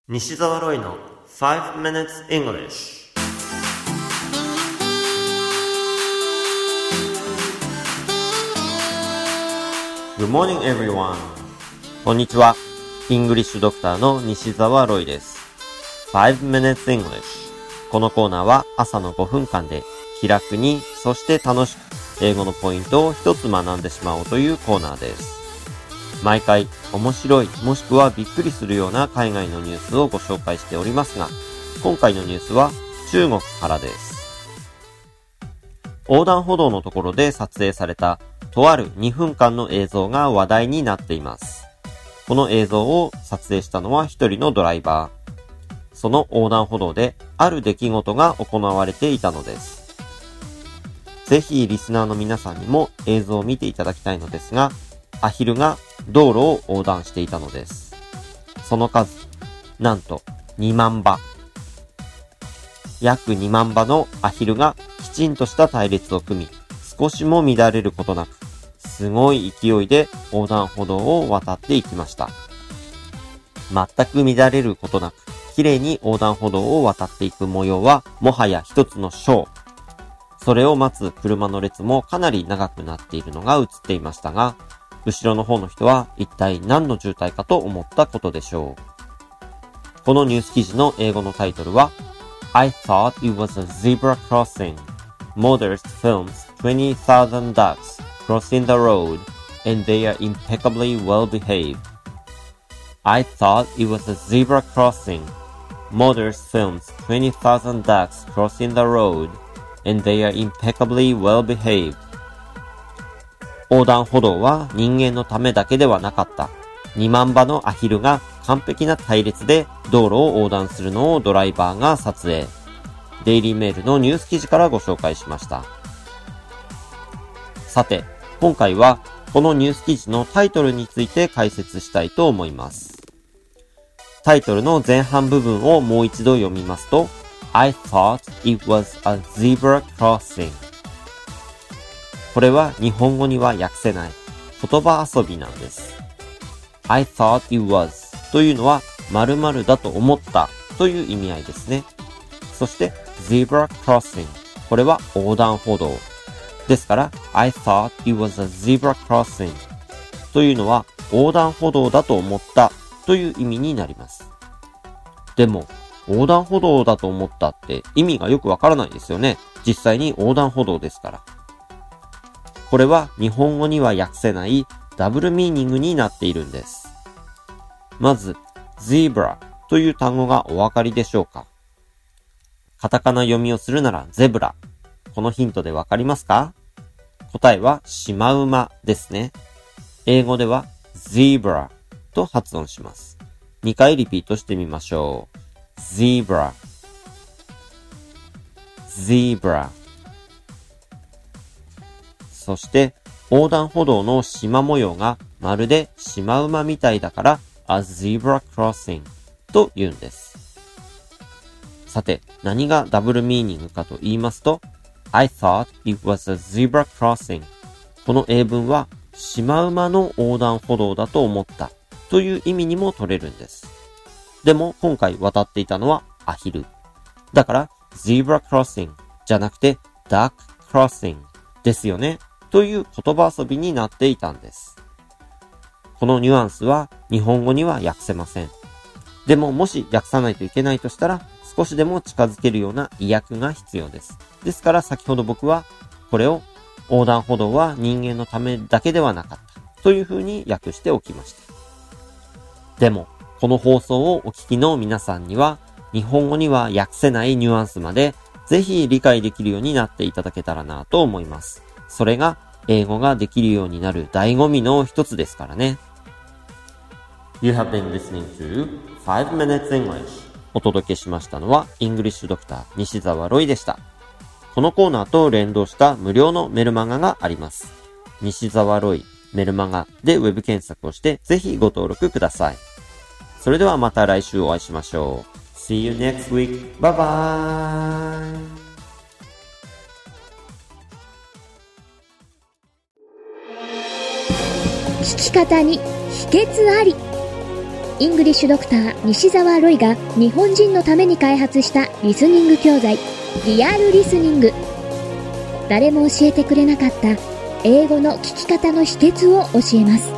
西澤ロイの5 minutes English。Good morning everyone。こんにちは。イングリッシュドクターの西澤ロイです。5 minutes English。このコーナーは朝の5分間で気楽に、そして楽しく英語のポイントを一つ学んでしまおうというコーナーです。毎回面白いもしくはびっくりするような海外のニュースをご紹介しておりますが、今回のニュースは中国からです。横断歩道のところで撮影されたとある2分間の映像が話題になっています。この映像を撮影したのは一人のドライバー。その横断歩道である出来事が行われていたのです。ぜひリスナーの皆さんにも映像を見ていただきたいのですが、アヒルが道路を横断していたのです。その数、なんと2万羽。約2万羽のアヒルがきちんとした隊列を組み、少しも乱れることなく、すごい勢いで横断歩道を渡っていきました。全く乱れることなく、綺麗に横断歩道を渡っていく模様は、もはや一つのショー。それを待つ車の列もかなり長くなっているのが映っていましたが、後ろの方の人は一体何の渋滞かと思ったことでしょう。このニュース記事の英語のタイトルは I thought it was a zebra crossing. Mothers films 20,000 ducks crossing the road and they are impeccably well behaved. I thought it was a zebra crossing. Mothers films 20,000 ducks crossing the road and they are impeccably well behaved. 横断歩道は人間のためだけではなかった。2万羽のアヒルが完璧な隊列で道路を横断するのをドライバーが撮影。デイリーメールのニュース記事からご紹介しました。さて、今回はこのニュース記事のタイトルについて解説したいと思います。タイトルの前半部分をもう一度読みますと、I thought it was a zebra crossing。これは日本語には訳せない言葉遊びなんです。I thought it was というのは〇〇だと思ったという意味合いですね。そして zebra crossing これは横断歩道ですから I thought it was a zebra crossing というのは横断歩道だと思ったという意味になります。でも横断歩道だと思ったって意味がよくわからないですよね。実際に横断歩道ですから。これは日本語には訳せないダブルミーニングになっているんです。まず、zebra という単語がお分かりでしょうか？カタカナ読みをするならゼブラ。このヒントでわかりますか？答えはシマウマですね。英語では zebra と発音します。2回リピートしてみましょう。zebra zebra。そして横断歩道の縞模様がまるでシマウマみたいだから a zebra crossing と言うんです。さて、何がダブルミーニングかと言いますと I thought it was a zebra crossing。 この英文はシマウマの横断歩道だと思ったという意味にも取れるんです。でも今回渡っていたのはアヒル。だから zebra crossing じゃなくて duck crossing ですよね。という言葉遊びになっていたんです。このニュアンスは日本語には訳せません。でももし訳さないといけないとしたら少しでも近づけるような意訳が必要です。ですから先ほど僕はこれを横断歩道は人間のためだけではなかったというふうに訳しておきました。でもこの放送をお聞きの皆さんには日本語には訳せないニュアンスまでぜひ理解できるようになっていただけたらなと思います。それが英語ができるようになる醍醐味の一つですからね。You have been listening to 5 minutes English。 お届けしましたのはイングリッシュドクター西澤ロイでした。このコーナーと連動した無料のメルマガがあります。西澤ロイメルマガでウェブ検索をしてぜひご登録ください。それではまた来週お会いしましょう。See you next week. Bye bye. 聞き方に秘訣あり。 イングリッシュドクター西澤ロイが日本人のために開発したリスニング教材、リアルリスニング。誰も教えてくれなかった英語の聞き方の秘訣を教えます。